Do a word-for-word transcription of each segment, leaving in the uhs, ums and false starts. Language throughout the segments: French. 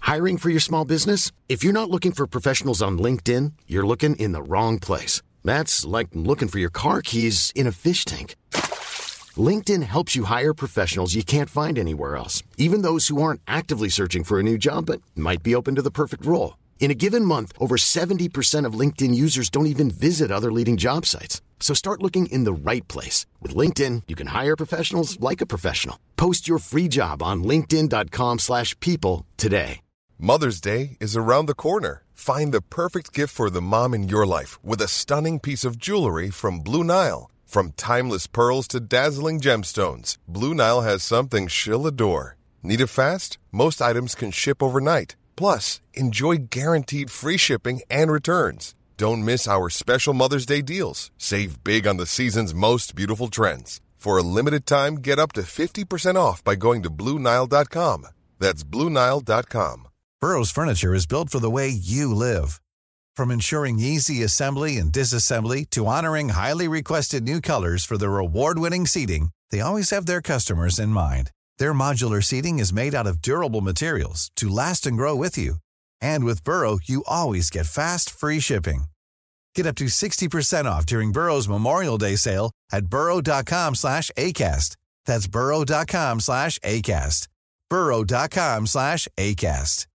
Hiring for your small business? If you're not looking for professionals on LinkedIn, you're looking in the wrong place. That's like looking for your car keys in a fish tank. LinkedIn helps you hire professionals you can't find anywhere else, even those who aren't actively searching for a new job but might be open to the perfect role. In a given month, over seventy percent of LinkedIn users don't even visit other leading job sites. So start looking in the right place. With LinkedIn, you can hire professionals like a professional. Post your free job on linkedin.com slash people today. Mother's Day is around the corner. Find the perfect gift for the mom in your life with a stunning piece of jewelry from Blue Nile. From timeless pearls to dazzling gemstones, Blue Nile has something she'll adore. Need it fast? Most items can ship overnight. Plus, enjoy guaranteed free shipping and returns. Don't miss our special Mother's Day deals. Save big on the season's most beautiful trends. For a limited time, get up to fifty percent off by going to Blue Nile dot com. That's Blue Nile dot com. Burrow's furniture is built for the way you live. From ensuring easy assembly and disassembly to honoring highly requested new colors for their award-winning seating, they always have their customers in mind. Their modular seating is made out of durable materials to last and grow with you. And with Burrow, you always get fast, free shipping. Get up to sixty percent off during Burrow's Memorial Day sale at burrow.com slash ACAST. That's burrow.com slash ACAST. burrow.com slash ACAST.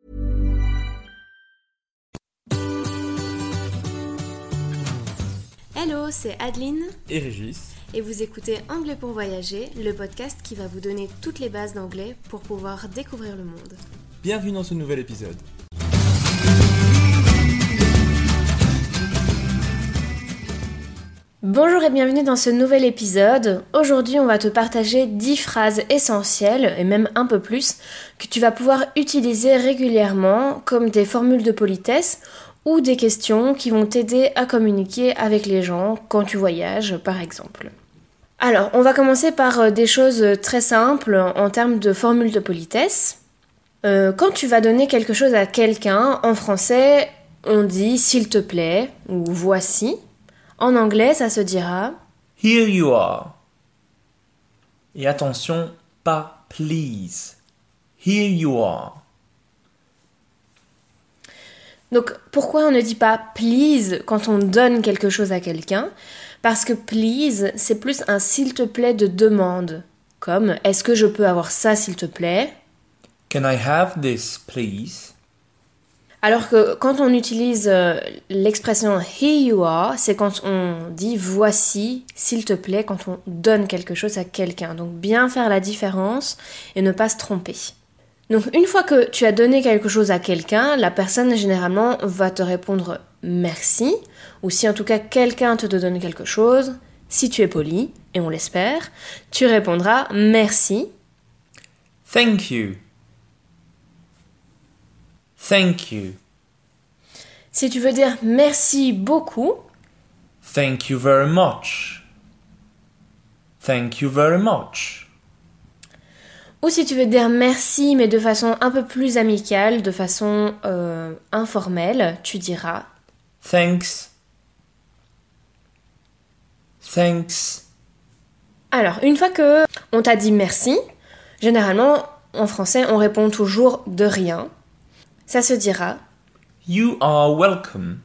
Hello, c'est Adeline et Régis. Et vous écoutez Anglais pour voyager, le podcast qui va vous donner toutes les bases d'anglais pour pouvoir découvrir le monde. Bienvenue dans ce nouvel épisode. Bonjour et bienvenue dans ce nouvel épisode. Aujourd'hui, on va te partager dix phrases essentielles, et même un peu plus, que tu vas pouvoir utiliser régulièrement comme des formules de politesse ou des questions qui vont t'aider à communiquer avec les gens quand tu voyages, par exemple. Alors, on va commencer par des choses très simples en termes de formules de politesse. Euh, quand tu vas donner quelque chose à quelqu'un, en français, on dit « s'il te plaît » ou « voici ». En anglais, ça se dira « Here you are ». Et attention, pas « please ». « Here you are ». Donc, pourquoi on ne dit pas « please » quand on donne quelque chose à quelqu'un ? Parce que « please », c'est plus un « s'il te plaît » de demande. Comme « est-ce que je peux avoir ça, s'il te plaît ?» Can I have this, please? Alors que quand on utilise euh, l'expression « here you are », c'est quand on dit « voici, s'il te plaît », quand on donne quelque chose à quelqu'un. Donc, bien faire la différence et ne pas se tromper. Donc, une fois que tu as donné quelque chose à quelqu'un, la personne, généralement, va te répondre « merci », ou si en tout cas quelqu'un te donne quelque chose, si tu es poli, et on l'espère, tu répondras « merci ». Thank you. Thank you. Si tu veux dire « merci beaucoup », Thank you very much. Thank you very much. ou si tu veux dire merci, mais de façon un peu plus amicale, de façon euh, informelle, tu diras Thanks. Thanks. Alors, une fois que on t'a dit merci, généralement, en français, on répond toujours de rien. Ça se dira You are welcome.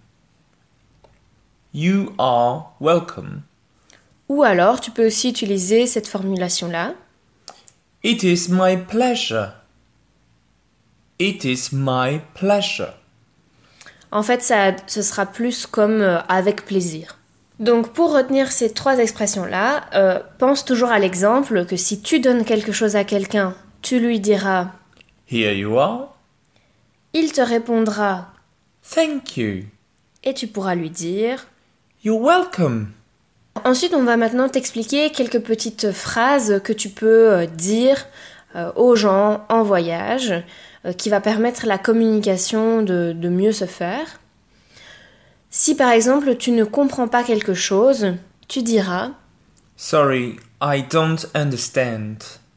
You are welcome. ou alors, tu peux aussi utiliser cette formulation-là. It is my pleasure. It is my pleasure. En fait, ça, ce sera plus comme euh, avec plaisir. Donc, pour retenir ces trois expressions-là, euh, pense toujours à l'exemple que si tu donnes quelque chose à quelqu'un, tu lui diras Here you are. il te répondra Thank you. et tu pourras lui dire. You're welcome. Ensuite, on va maintenant t'expliquer quelques petites phrases que tu peux euh, dire euh, aux gens en voyage, euh, qui va permettre la communication de, de mieux se faire. Si par exemple tu ne comprends pas quelque chose, tu diras Sorry, I don't understand.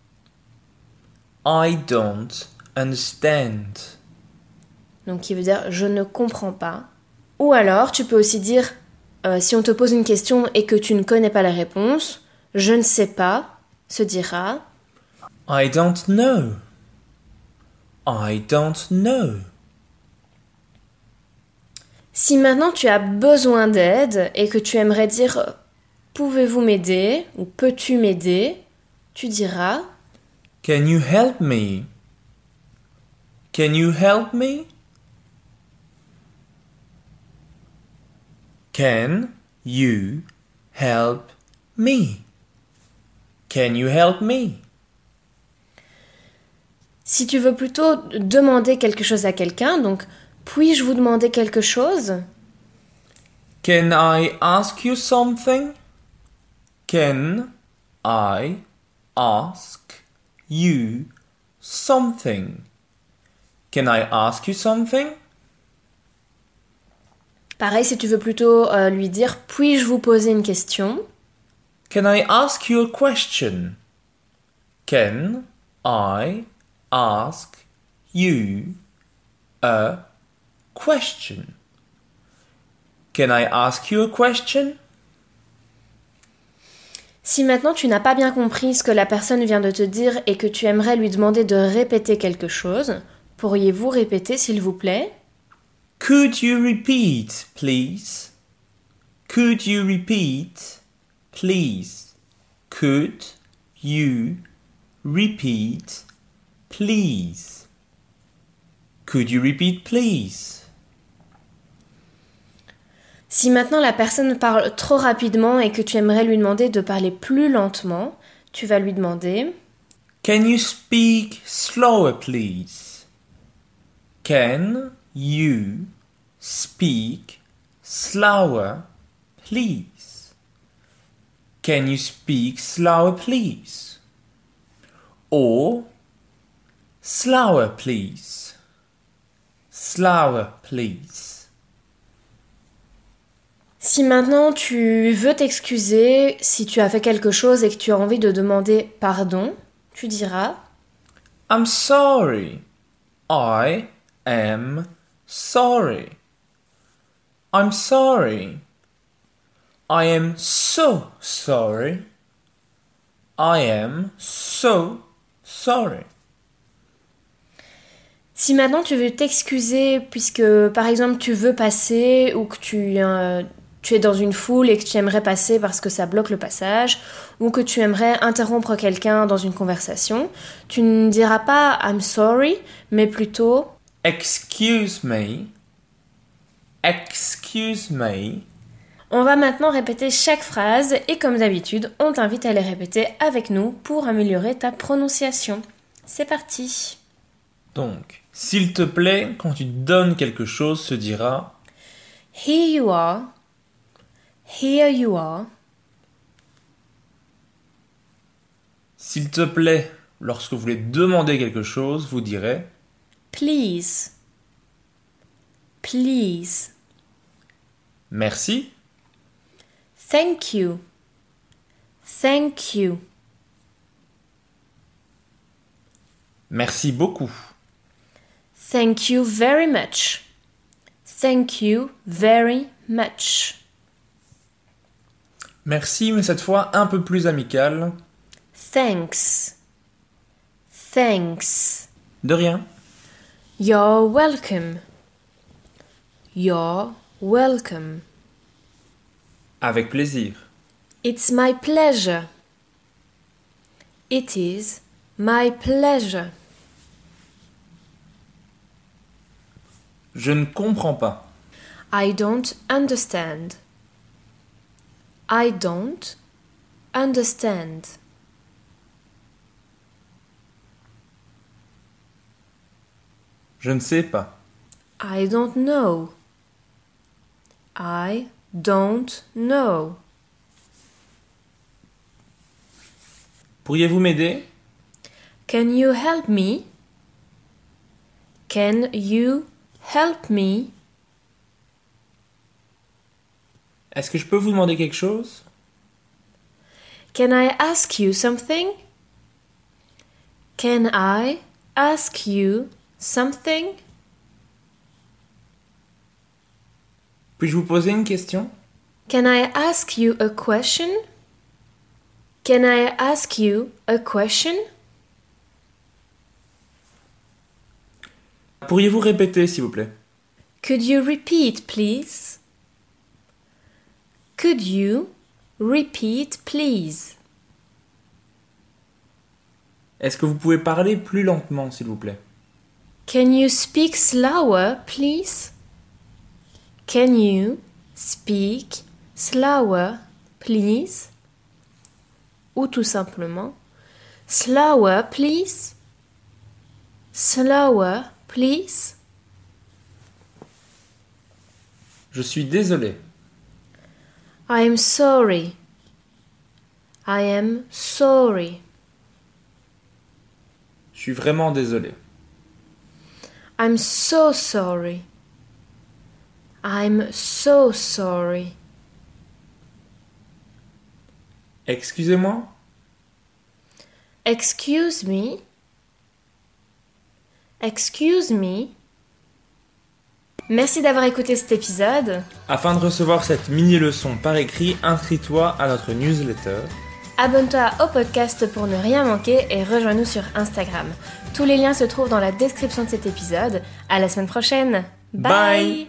I don't understand. donc qui veut dire je ne comprends pas. Ou alors tu peux aussi dire euh, si on te pose une question et que tu ne connais pas la réponse, je ne sais pas se dira I don't know. I don't know. Si maintenant tu as besoin d'aide et que tu aimerais dire « Pouvez-vous m'aider » ou « Peux-tu m'aider ?» tu diras Can you help me? Can you help me? Can you help me? Can you help me? Si tu veux plutôt demander quelque chose à quelqu'un, donc « Puis-je vous demander quelque chose ?» Can I ask you something? Can I ask you something? Can I ask you something? Pareil, si tu veux plutôt euh, lui dire « Puis-je vous poser une question ?» Can I ask you a question? Can I ask you a question? Can I ask you a question? Si maintenant tu n'as pas bien compris ce que la personne vient de te dire et que tu aimerais lui demander de répéter quelque chose, pourriez-vous répéter s'il vous plaît? Could you repeat, please? Could you repeat, please? Could you repeat, please? Could you repeat, please? Si maintenant la personne parle trop rapidement et que tu aimerais lui demander de parler plus lentement, tu vas lui demander Can you speak slower, please? Can you speak slower, please? Can you speak slower, please? Or slower, please? Slower, please. Si maintenant tu veux t'excuser, si tu as fait quelque chose et que tu as envie de demander pardon, tu diras I'm sorry. I am sorry. I'm sorry. I am so sorry. I am so sorry. Si maintenant tu veux t'excuser puisque par exemple tu veux passer ou que tu, euh, tu es dans une foule et que tu aimerais passer parce que ça bloque le passage ou que tu aimerais interrompre quelqu'un dans une conversation, tu ne diras pas I'm sorry mais plutôt Excuse me. Excuse me. On va maintenant répéter chaque phrase et comme d'habitude, on t'invite à les répéter avec nous pour améliorer ta prononciation. C'est parti. Donc, s'il te plaît, quand tu donnes quelque chose, se dira Here you are. Here you are. S'il te plaît, lorsque vous voulez demander quelque chose, vous direz Please. Please. Merci. Thank you. Thank you. Merci beaucoup. Thank you very much. Thank you very much. Merci, mais cette fois un peu plus amical. Thanks. Thanks. De rien. You're welcome. You're welcome. Avec plaisir. It's my pleasure. It is my pleasure. Je ne comprends pas. I don't understand. I don't understand. Je ne sais pas. I don't know. I don't know. Pourriez-vous m'aider? Can you help me? Can you help me? Est-ce que je peux vous demander quelque chose? Can I ask you something? Can I ask you something? Puis-je vous poser une question? Can I ask you a question? Can I ask you a question? Pourriez-vous répéter, s'il vous plaît? Could you repeat, please? Could you repeat, please? Est-ce que vous pouvez parler plus lentement, s'il vous plaît? Can you speak slower, please? Can you speak slower, please? Ou tout simplement, slower, please? Slower, please? Je suis désolé. I am sorry. I am sorry. Je suis vraiment désolé. I'm so sorry. I'm so sorry. Excusez-moi? Excuse me. Excuse me. Merci d'avoir écouté cet épisode. Afin de recevoir cette mini-leçon par écrit, inscris-toi à notre newsletter. Abonne-toi au podcast pour ne rien manquer et rejoins-nous sur Instagram. Tous les liens se trouvent dans la description de cet épisode. À la semaine prochaine. Bye. Bye.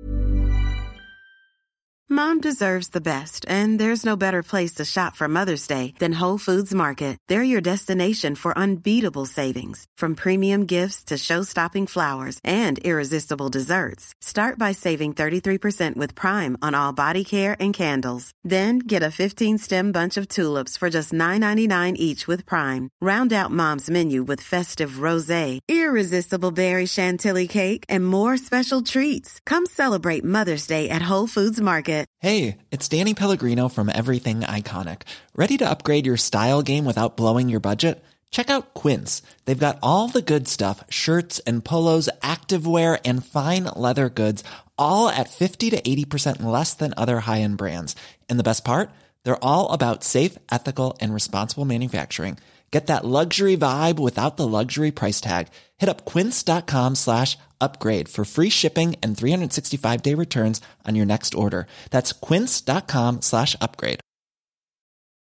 Mom deserves the best, and there's no better place to shop for Mother's Day than Whole Foods Market. They're your destination for unbeatable savings, from premium gifts to show-stopping flowers and irresistible desserts. Start by saving thirty-three percent with Prime on all body care and candles. Then get a fifteen-stem bunch of tulips for just nine ninety-nine each with Prime. Round out Mom's menu with festive rosé, irresistible berry chantilly cake, and more special treats. Come celebrate Mother's Day at Whole Foods Market. Hey, it's Danny Pellegrino from Everything Iconic. Ready to upgrade your style game without blowing your budget? Check out Quince. They've got all the good stuff, shirts and polos, activewear, and fine leather goods, all at fifty to eighty percent less than other high-end brands. And the best part? They're all about safe, ethical, and responsible manufacturing. Get that luxury vibe without the luxury price tag. Hit up quince.com slash upgrade for free shipping and three sixty-five day returns on your next order. That's quince.com slash upgrade.